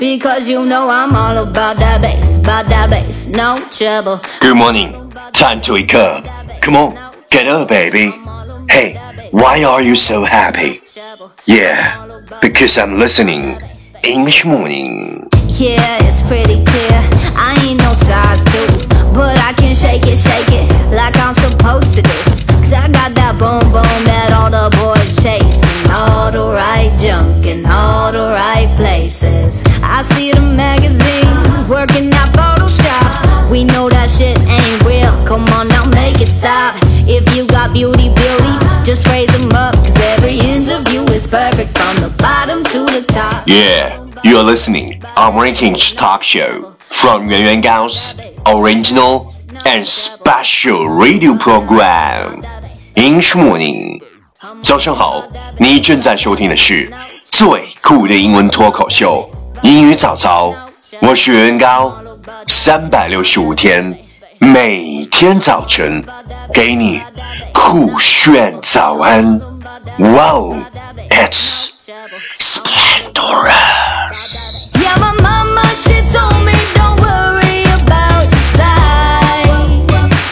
Because you know I'm all about that bass, no trouble. Good morning, time to wake up. Come on, get up, baby. Hey, why are you so happy? Yeah, because I'm listening English morning. Yeah, it's pretty clear. I ain't no size 2, but I can shake it like I'm supposed to do. Cause I got that boom boom that all the boys chase, and all the right junk in all the right places. I see the magazines working that Photoshop. We know that shit ain't real. Come on now, make it stop. If you got beauty, just raise them up. Cause every inch of you is perfect from the bottom to the top. Yeah, you are listening our ranking talk show from Yuan Yuan Gao's original and special radio program English Morning. 早上好，你正在收听的是最酷的英文脱口秀英语早早，我是袁高，365天，每天早晨给你酷炫早安。Wow, it's splendorous. Yeah, my mama, she told me don't worry about your size.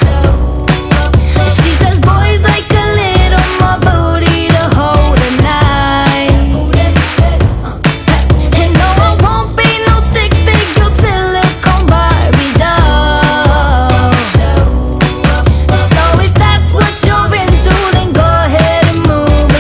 She says boys like a little more booty to hold a knife. And no, I won't be no stick figure silicone Barbie doll. So if that's what you're into, then go ahead and move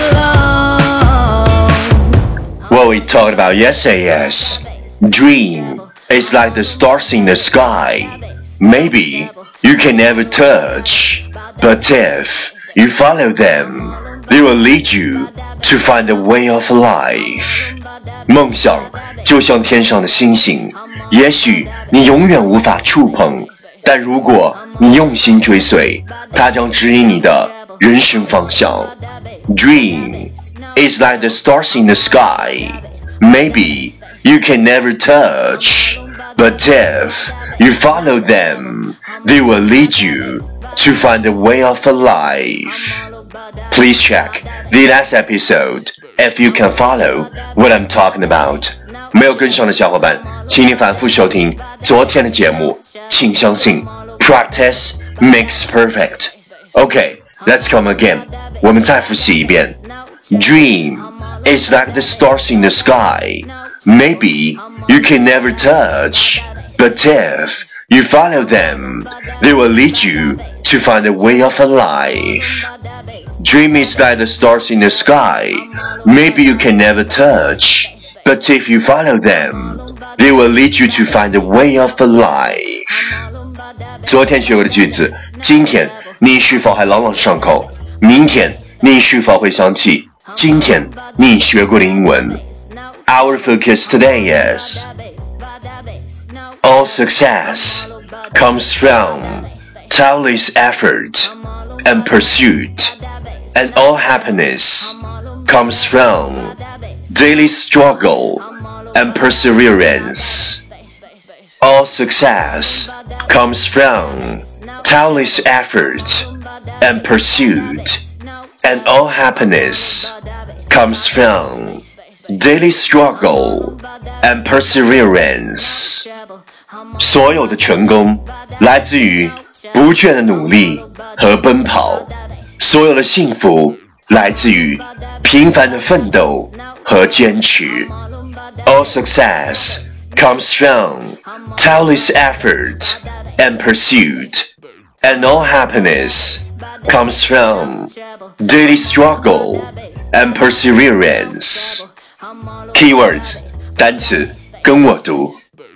along. What we talked about yesterday is dream is like the stars in the sky. Maybe you can never touch, but if you follow them, they will lead you to find the way of life. 梦想就像天上的星星，也许你永远无法触碰，但如果你用心追随，它将指引你的人生方向。Dream is like the stars in the sky. Maybe you can never touch, but if you follow them, they will lead you to find the way of life. Please check the last episode if you can follow what I'm talking about. 没有跟上的小伙伴，请你反复收听昨天的节目。请相信 ，practice makes perfect. Okay, let's come again. 我们再复习一遍。Dream is like the stars in the sky. Maybe you can never touch, but if you follow them, they will lead you to find the way of life. Dream is like the stars in the sky. Maybe you can never touch, but if you follow them, they will lead you to find the way of life. 昨天学过的句子，今天你是否还朗朗上口？明天你是否会想起今天你学过的英文？ Our focus today is all success comes from tireless effort and pursuit, and all happiness comes from daily struggle and perseverance. All success comes from tireless effort and pursuit, and all happiness comes from daily struggle and perseverance. 所有的成功来自于不倦的努力和奔跑，所有的幸福来自于平凡的奋斗和坚持。All success comes from tireless effort and pursuit, and all happiness comes from daily struggle and perseverance. Keywords 单词跟我读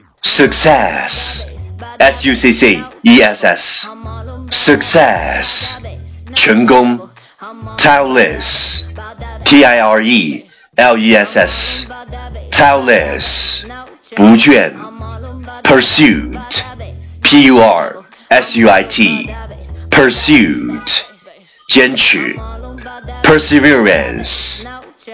Success S-U-C-C-E-S-S Success 成功 Tireless T-I-R-E-L-E-S-S Tireless 不倦 Pursuit P-U-R-S-U-I-T Pursuit 坚持 Perseverance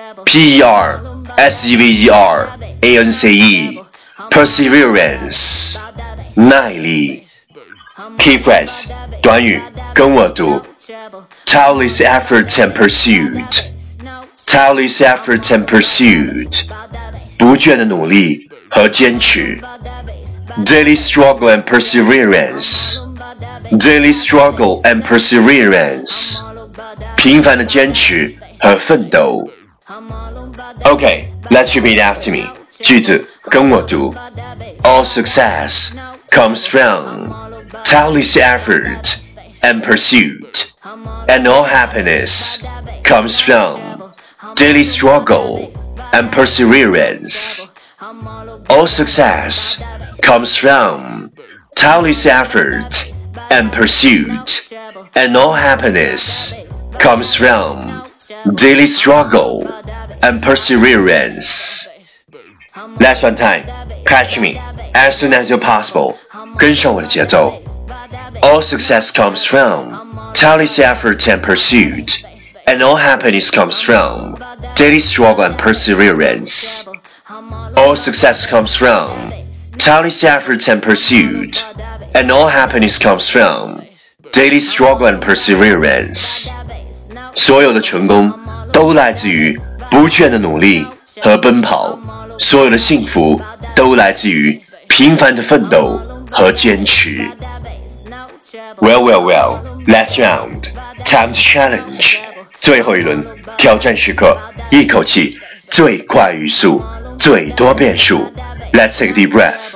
P-E-R-S-E-V-E-R-A-N-C-E Perseverance 耐力 Key phrase 短语跟我读 Tireless effort and pursuit Tireless effort and pursuit 不倦的努力和坚持。Daily struggle and perseverance. Daily struggle and perseverance. 平凡的坚持和奋斗。Okay, let's repeat after me. 句子跟我读。All success comes from tireless effort and pursuit, and all happiness comes from daily struggle and perseverance. All success comes from tireless effort and pursuit, and all happiness comes from daily struggle and perseverance. Last one time, catch me as soon as you're possible. 跟上我的节奏。All success comes from tireless effort and pursuit, and all happiness comes from daily struggle and perseverance. All success comes from tireless effort and pursuit, and all happiness comes from daily struggle and perseverance. 所有的成功都来自于不倦的努力和奔跑，所有的幸福都来自于平凡的奋斗和坚持。Well, last round, time to challenge. 最后一轮挑战时刻，一口气最快语速，最多变数。Let's take a deep breath.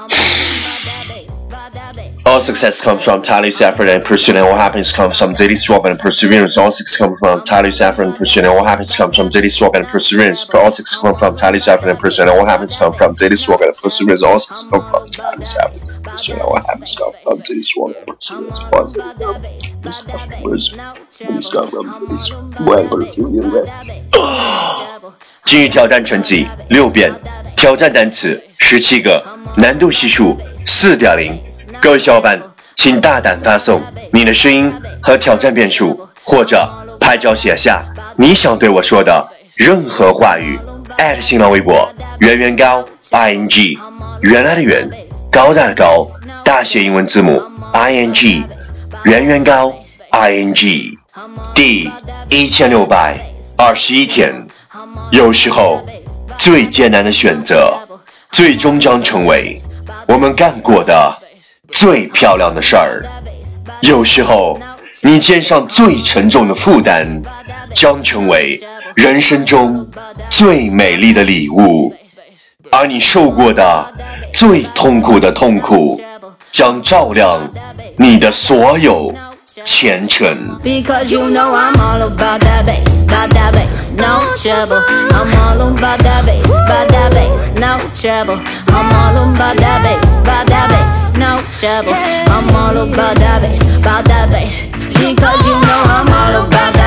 All success comes from tireless effort and pursuit, and all happiness comes from daily struggle and perseverance. All success comes from tireless effort and pursuit, and all happiness comes from daily struggle and perseverance. All success comes from tireless effort and pursuit, and all happiness comes from daily struggle and perseverance. All success comes from tireless effort and pursuit, and all happiness comes from daily struggle and perseverance. 今日挑战成绩6遍，挑战单词17个，难度系数4.0。各位小伙伴，请大胆发送你的声音和挑战变数，或者拍照写下你想对我说的任何话语。新浪微博圆圆高 ing， 原来的圆，高大的高，大写英文字母 ing， 圆圆高 ing。第1621天，有时候最艰难的选择，最终将成为我们干过的最漂亮的事儿。有时候你肩上最沉重的负担将成为人生中最美丽的礼物，而你受过的最痛苦的痛苦将照亮你的所有前程。 Because you know I'm all about that bass, no trouble. I'm all about that bass, no trouble. I'm all about that bass, no trouble. I'm all about that bass, because you know I'm all about that